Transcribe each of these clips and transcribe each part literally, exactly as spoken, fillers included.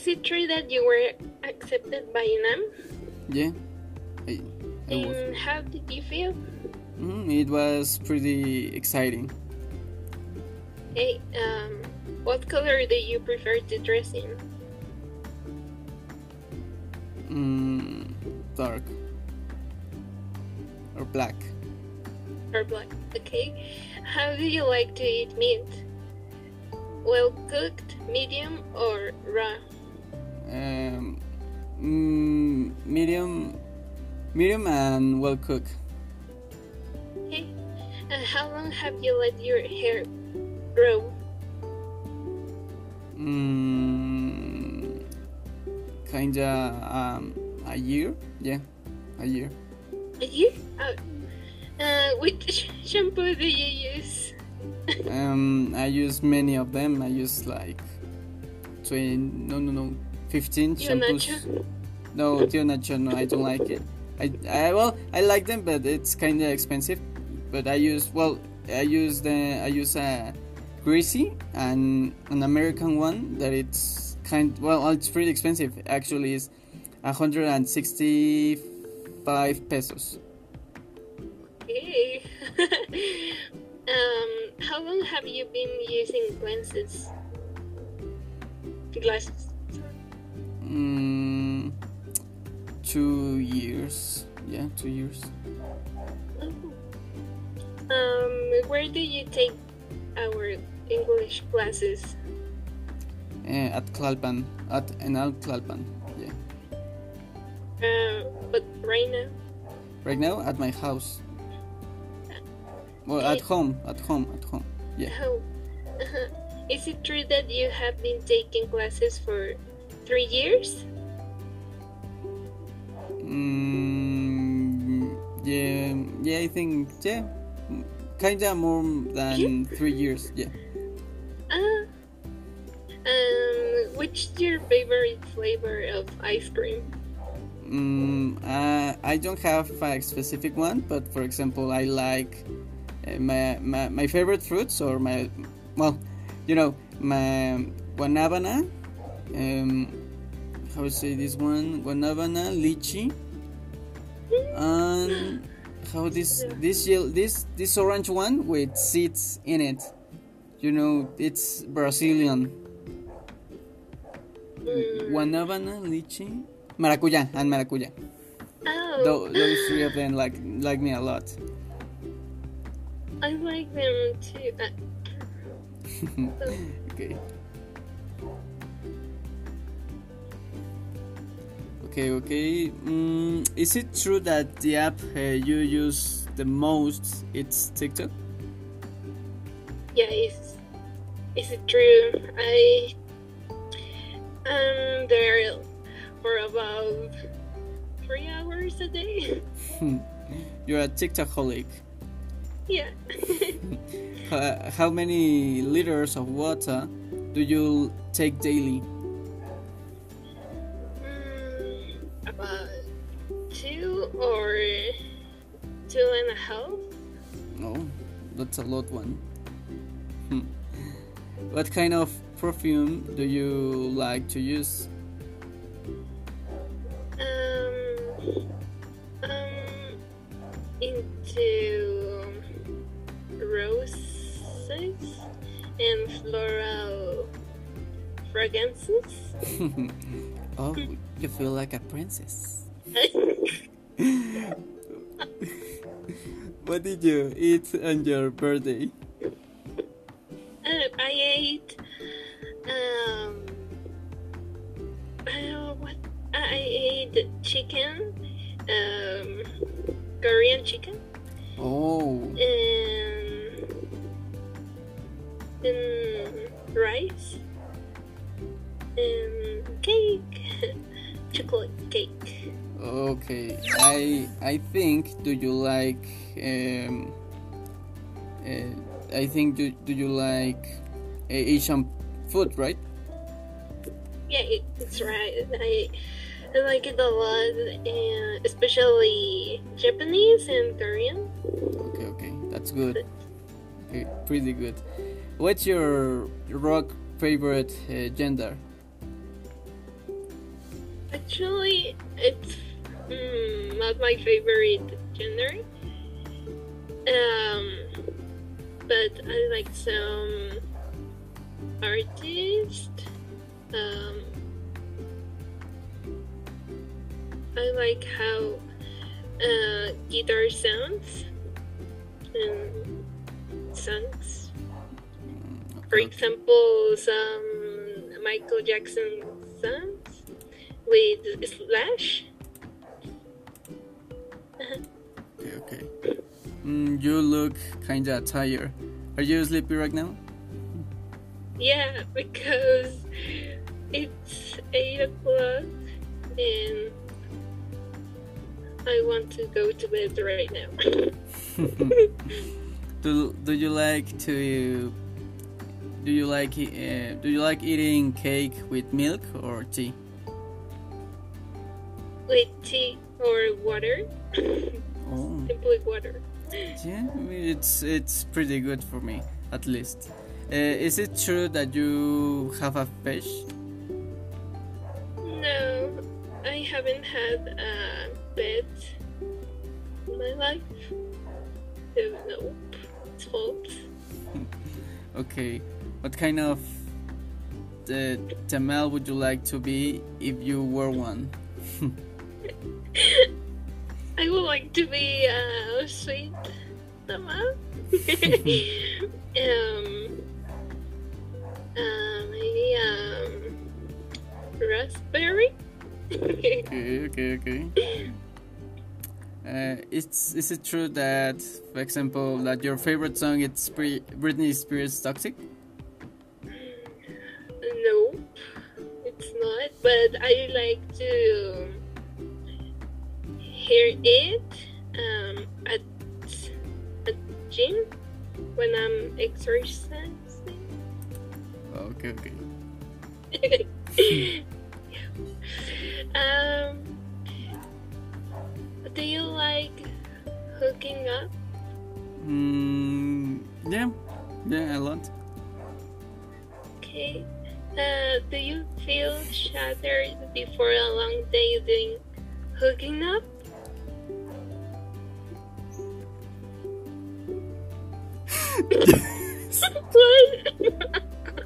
it true that you were accepted by UNAM? Yeah, I, I was. And how did you feel? Mm, it was pretty exciting. Hey, um, what color do you prefer to dress in? Mm, dark or black. Or black? Okay. How do you like to eat meat? Well cooked, medium, or raw? Um, mm, medium, medium and well cooked. Okay. And how long have you let your hair grow? Mm, kinda um, a year. Yeah, a year. A year? Uh, uh, which shampoo do you use? um, I use many of them. I use like twenty. No, no, no. Fifteen Tio shampoos. Nacho? No, Tio Nacho. No, I don't like it. I, I well, I like them, but it's kind of expensive. But I use well, I use the I use a greasy and an American one that it's kind well, it's pretty expensive. Actually, it's a hundred and sixty-five pesos. Okay. um, how long have you been using glasses? Glasses. Mm, two years. Yeah, two years. Um, where do you take our English classes? Uh, at Tlalpan, at Enal Tlalpan. Yeah. Uh, but right now? Right now, at my house. Well, at home, at home, at home. Yeah. How? Is it true that you have been taking classes for three years? Mm, yeah, yeah, I think, yeah, kinda more than three years, yeah. Uh, um, which is your favorite flavor of ice cream? Mm, uh, I don't have a specific one, but for example, I like uh, my, my my favorite fruits or my, well, you know, my guanabana, um, how to say this one, guanabana, lychee, and how this this yellow, this this orange one with seeds in it. You know, it's Brazilian. Mm. Guanabana, lychee, maracuya, and maracuya. Oh, Tho- those three of them like like me a lot. I like them too. Uh, Okay. Okay, okay. Mm, is it true that the app uh, you use the most it's TikTok? yeah, is is it true? I am there for about three hours a day. You're a TikTok-holic. Yeah. Uh, how many liters of water do you take daily? Mm, about two or two and a half. No, that's a lot one. Hmm. What kind of perfume do you like to use? Um, um, into roses and floral fragrances. Oh, you feel like a princess. What did you eat on your birthday? Uh, I ate um uh, what I ate chicken, um Korean chicken, Oh, and and rice and cake, chocolate cake. okay. I I think. Do you like? Um, uh, I think. Do Do you like uh, Asian food? Right? Yeah, it, it's right. I I like it a lot, and especially Japanese and Korean. Okay, okay. That's good. Okay, pretty good. What's your rock favorite uh, gender? Actually, it's mm, not my favorite genre. Um, but I like some artists. Um, I like how uh, guitar sounds and songs. For example, some Michael Jackson songs with Slash. Okay, okay. Mm, you look kinda tired. Are you sleepy right now? Yeah, because it's eight o'clock and I want to go to bed right now. do Do you like to? Do you like uh, Do you like eating cake with milk or tea? With tea or water. Oh, Simply water. yeah. I mean, it's it's pretty good for me, at least. Uh, is it true that you have a fish? No, I haven't had a pet in my life. So no, it's false. Okay. What kind of uh, tamal would you like to be if you were one? I would like to be a sweet tamal. um, uh, maybe um, raspberry. Okay, okay, okay. Uh, it's is it true that, for example, that your favorite song is Bri- Britney Spears' "Toxic"? No, it's not. But I like to hear it um, at at gym when I'm exercising. Okay, okay. um, do you like hooking up? Mm, yeah, yeah, a lot. Okay. Uh, do you feel shattered before a long day doing hooking up? What?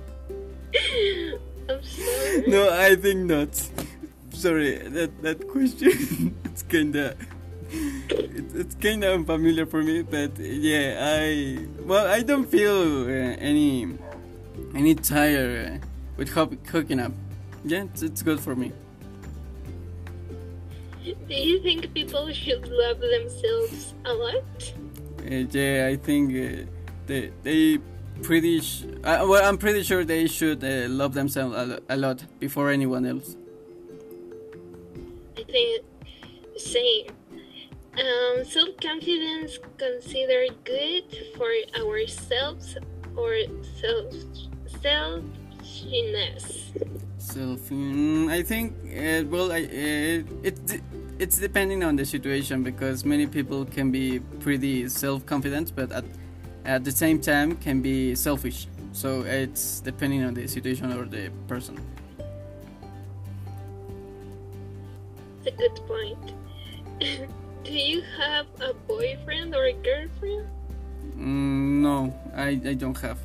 I'm sorry. No, I think not. Sorry, that that question it's kinda it, it's kinda unfamiliar for me, but yeah, I well I don't feel uh, any any tired uh, with hook, hooking up. Yeah, it's, it's good for me. Do you think people should love themselves a lot? Uh, yeah, I think uh, they they pretty sh- uh, well I'm pretty sure they should uh, love themselves a, lo- a lot before anyone else. I think same. Um, self-confidence considered good for ourselves or self selfishness. Self, mm, I think uh, well, I uh, it it's depending on the situation because many people can be pretty self-confident, but at at the same time can be selfish. So it's depending on the situation or the person. That's a good point. Do you have a boyfriend or a girlfriend? Mm, no, I I don't have.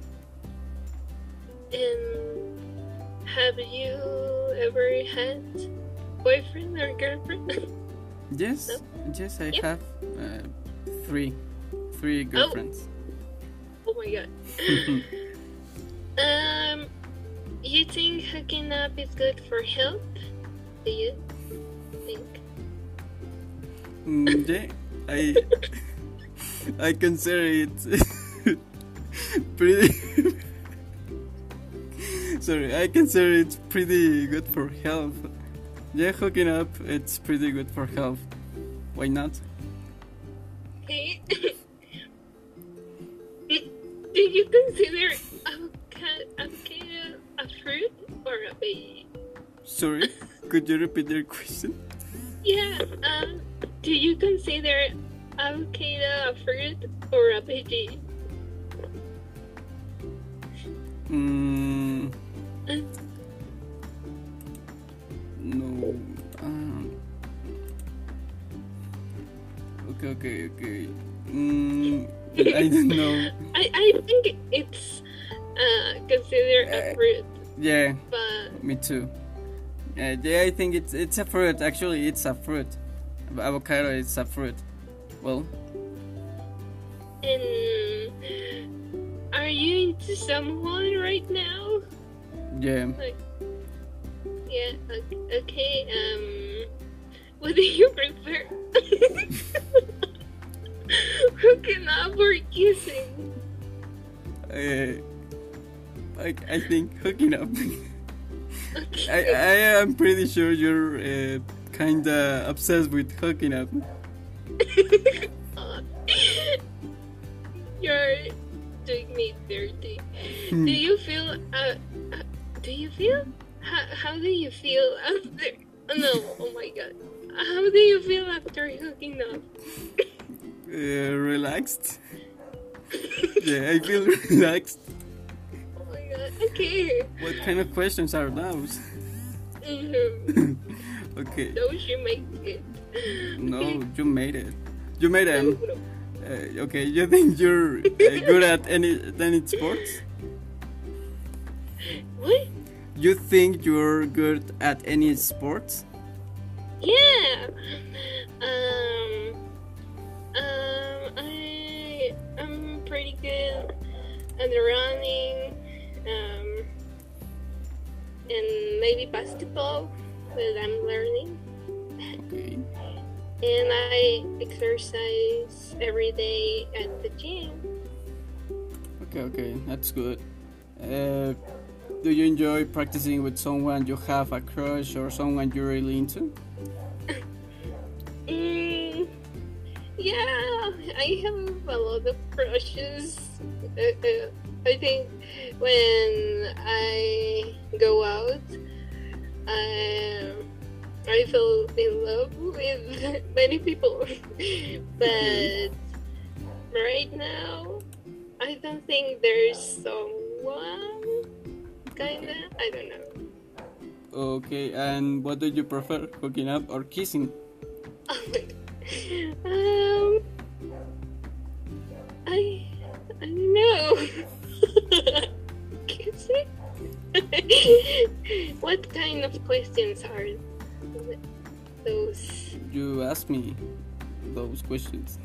And have you ever had boyfriend or girlfriend? Yes, No? yes, I Yeah. have uh, three three girlfriends. Oh my god. um, you think hooking up is good for health? Do you think? Mm, yeah, I I consider it pretty. Sorry, I consider it pretty good for health. Yeah, hooking up, it's pretty good for health. Why not? Okay. Do you consider avocado, avocado a fruit or a veggie? Sorry, could you repeat your question? Yeah. Um. Do you consider avocado a fruit or a veggie? Mm, Uh, no. Um, okay, okay, okay. Mm, I don't know. I, I think it's uh, considered a Uh, fruit, Yeah, but me too. Uh, yeah, I think it's it's a fruit. Actually, it's a fruit. Avocado is a fruit. Well, and are you into someone right now? yeah. Like, yeah, o- okay. Um, what do you prefer? Hooking up or kissing? Uh, I I think hooking up. I Okay. I am pretty sure you're uh, kinda obsessed with hooking up. You're doing me dirty. Hmm. Do you feel? Uh, uh, do you feel? How, how do you feel after? Oh, no! Oh my god! How do you feel after hooking up? Uh, relaxed. Yeah, I feel relaxed. Oh my god! Okay. What kind of questions are those? Mhm. Okay. Those you make it. No, you made it. You made No, them. no. Uh, okay, you think you're uh, good at any any sports? What? You think you're good at any sports? Yeah. Um. Um. I. I'm pretty good at running. Um. And maybe basketball, but I'm learning. Okay. And I exercise every day at the gym. Okay, okay, that's good. Uh, do you enjoy practicing with someone you have a crush or someone you're really into? Mm, yeah, I have a lot of crushes. Uh, uh, I think when I go out, I, I fell in love with many people. But right now, I don't think there's someone. Kinda, I don't know. Okay, and what do you prefer, hooking up or kissing? um, I, I don't know. Kissing? What kind of questions are those? You ask me those questions.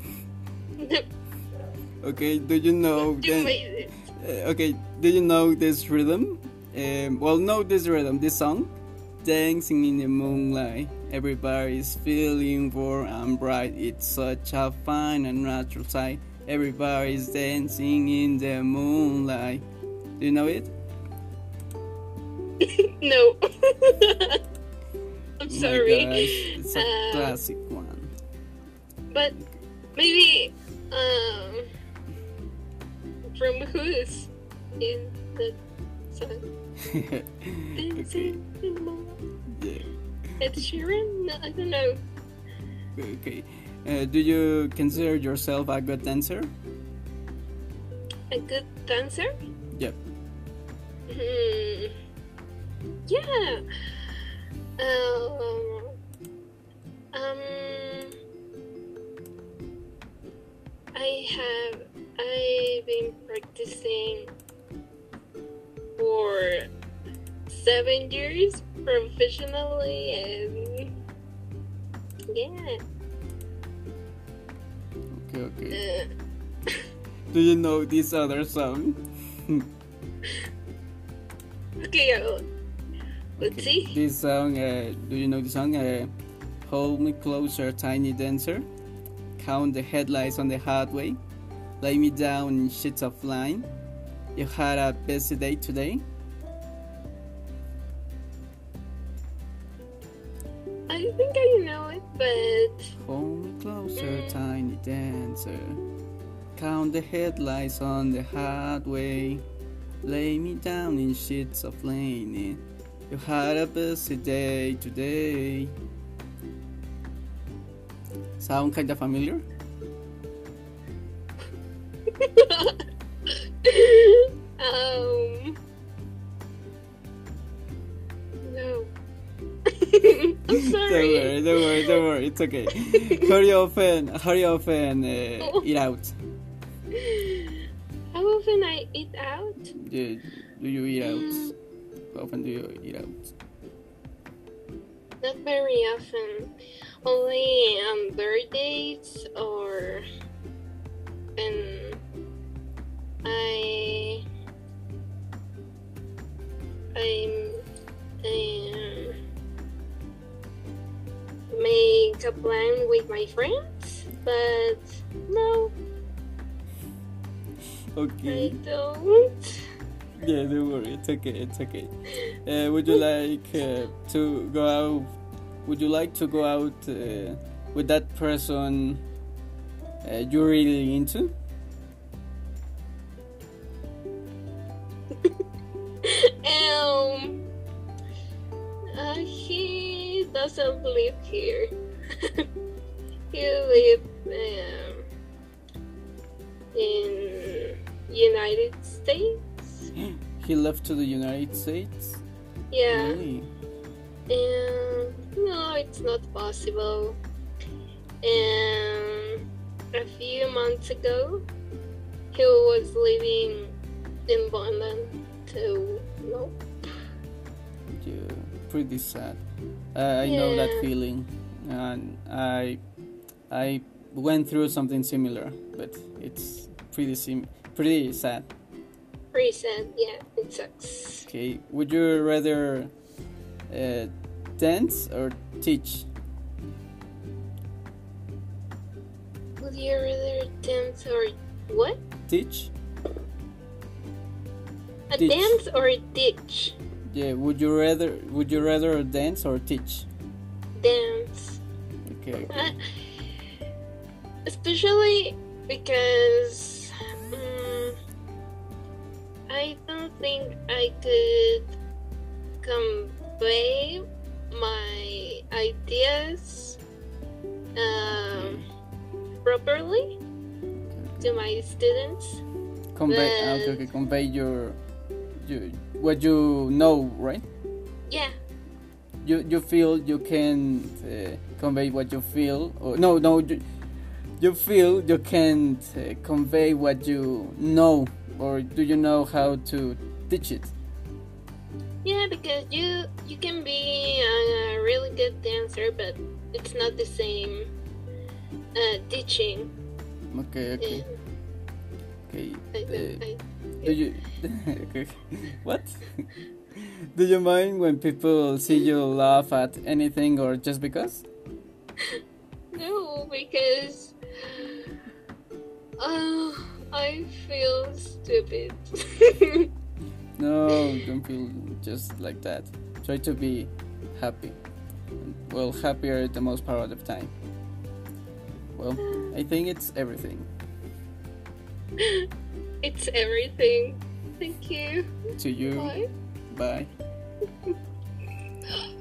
Okay, do you know? You the- made it. uh, okay, do you know this rhythm? Um, well, no, this rhythm, this song. Dancing in the moonlight, everybody's feeling warm and bright. It's such a fine and natural sight. Everybody's dancing in the moonlight. Do you know it? No. I'm Oh my sorry. gosh, it's a Uh, classic one. But maybe um from whose is that song? Okay, Dancing in the moonlight. yeah, Ed Sheeran? No, I don't know. okay. Uh, do you consider yourself a good dancer? A good dancer? Yep. Hmm. Yeah. Um. Um. I have. I've been practicing for seven years professionally, and yeah. Okay, okay. Uh, Do you know this other song? okay, uh, let's see. This song, uh, do you know the song? Uh, Hold me closer, tiny dancer. Count the headlights on the highway. Lay me down in sheets of line. You had a busy day today. I think I know it, but Hold me closer, tiny dancer. Count the headlights on the highway. Lay me down in sheets of linen. You had a busy day today. Sound kinda familiar? um, no. it's okay. How do you often, how do you often uh, eat out? How often I eat out? Do, do you eat out? How often do you eat out? Not very often. Only on birthdays or when I I um, make a plan with my friends, but no, Okay. I don't. Yeah, don't worry. It's okay. It's okay. Uh, would you like uh, to go out? Would you like to go out uh, with that person uh, you're really into? um, uh, he doesn't live here. He lives um, in United States. He left to the United States? Yeah, Really? and no, it's not possible. And a few months ago, he was living in London, so no. Yeah, pretty sad. Uh, I know that Yeah. feeling, and I I went through something similar, but it's pretty sim- pretty sad. Pretty sad, yeah, it sucks. Okay, would you rather uh, dance or teach? Would you rather dance or what? Teach? A Ditch. dance or a ditch? Yeah, would you rather would you rather dance or teach? Dance. Okay, okay. Uh, especially because um, I don't think I could convey my ideas um, properly to my students. Convey ah, okay, okay, convey your, your what you know, right? Yeah, You you feel you can uh, convey what you feel, or no no you, you feel you can't uh, convey what you know, or do you know how to teach it? yeah, because you you can be a really good dancer, but it's not the same uh, teaching. Okay, okay, And okay. I Uh, don't, I, do you okay. What? Do you mind when people see you laugh at anything or just because? no, because uh, I feel stupid. No, don't feel just like that. Try to be happy. Well, happier the most part of the time. Well, I think it's everything. It's everything. Thank you. To you, Bye. bye.